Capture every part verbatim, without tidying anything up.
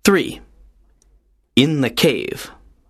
three. In the Cave.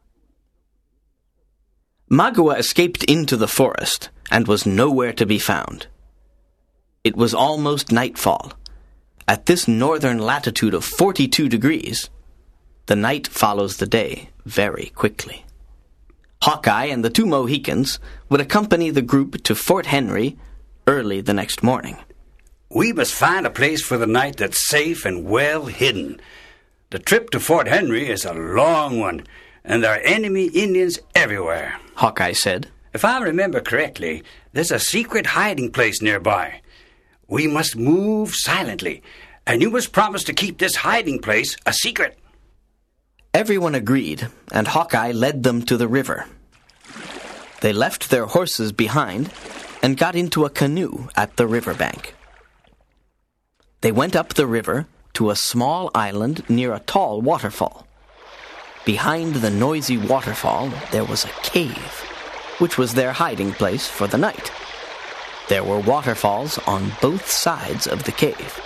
Magua escaped into the forest and was nowhere to be found. It was almost nightfall. At this northern latitude of forty-two degrees, the night follows the day very quickly. Hawkeye and the two Mohicans would accompany the group to Fort Henry early the next morning. We must find a place for the night that's safe and well hidden. The trip to Fort Henry is a long one, and there are enemy Indians everywhere, Hawkeye said. If I remember correctly, there's a secret hiding place nearby. We must move silently, and you must promise to keep this hiding place a secret. Everyone agreed, and Hawkeye led them to the river. They left their horses behind and got into a canoe at the riverbank. They went up the river to a small island near a tall waterfall. Behind the noisy waterfall there was a cave, which was their hiding place for the night. There were waterfalls on both sides of the cave.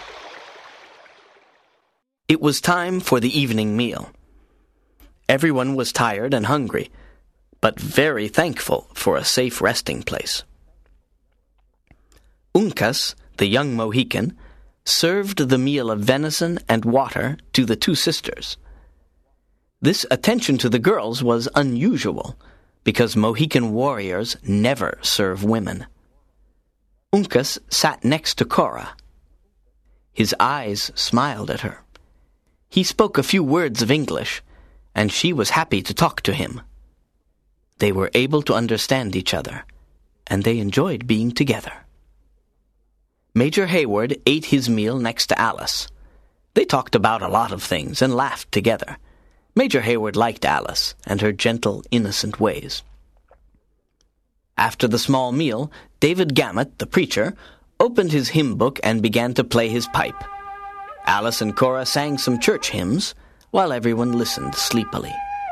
It was time for the evening meal. Everyone was tired and hungry, but very thankful for a safe resting place. Uncas, the young Mohican, served the meal of venison and water to the two sisters. This attention to the girls was unusual, because Mohican warriors never serve women. Uncas sat next to Cora. His eyes smiled at her. He spoke a few words of English, and she was happy to talk to him. They were able to understand each other, and they enjoyed being together. Major Hayward ate his meal next to Alice. They talked about a lot of things and laughed together. Major Hayward liked Alice and her gentle, innocent ways. After the small meal, David Gammett, the preacher, opened his hymn book and began to play his pipe. Alice and Cora sang some church hymns, while everyone listened sleepily.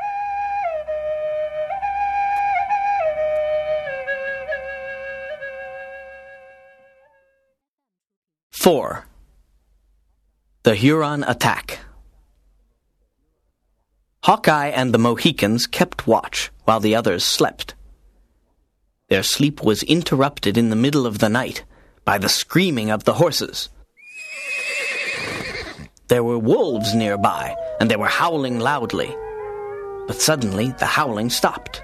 Four. The Huron Attack. Hawkeye and the Mohicans kept watch while the others slept. Their sleep was interrupted in the middle of the night by the screaming of the horses. There were wolves nearby, and they were howling loudly. But suddenly the howling stopped.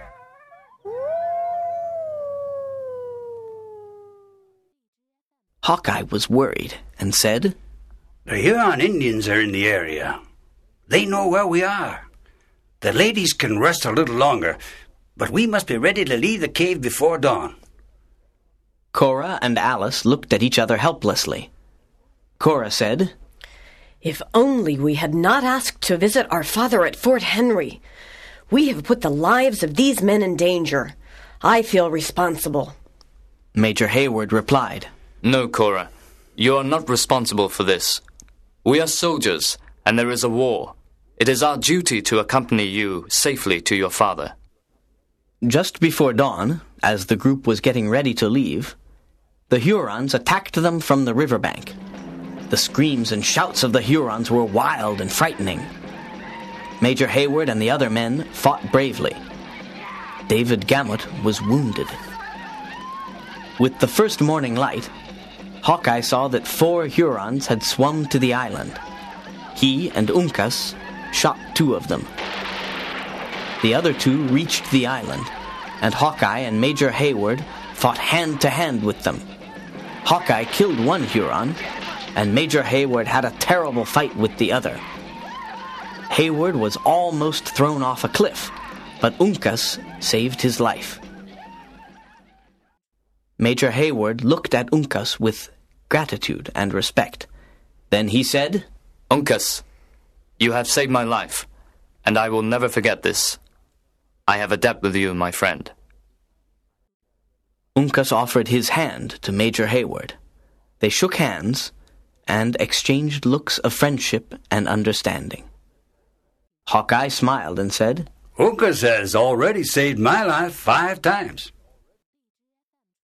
Hawkeye was worried and said, The Huron Indians are in the area. They know where we are. The ladies can rest a little longer, but we must be ready to leave the cave before dawn. Cora and Alice looked at each other helplessly. Cora said, If only we had not asked to visit our father at Fort Henry. We have put the lives of these men in danger. I feel responsible. Major Hayward replied, No, Cora. You are not responsible for this. We are soldiers, and there is a war. It is our duty to accompany you safely to your father. Just before dawn, as the group was getting ready to leave, the Hurons attacked them from the riverbank. The screams and shouts of the Hurons were wild and frightening. Major Hayward and the other men fought bravely. David Gammett was wounded. With the first morning light, Hawkeye saw that four Hurons had swum to the island. He and Uncas shot two of them. The other two reached the island, and Hawkeye and Major Hayward fought hand-to-hand with them. Hawkeye killed one Huron, and Major Hayward had a terrible fight with the other. Hayward was almost thrown off a cliff, but Uncas saved his life. Major Hayward looked at Uncas with gratitude and respect. Then he said, Uncas, you have saved my life, and I will never forget this. I have a debt with you, my friend. Uncas offered his hand to Major Hayward. They shook hands and exchanged looks of friendship and understanding. Hawkeye smiled and said, Uncas has already saved my life five times.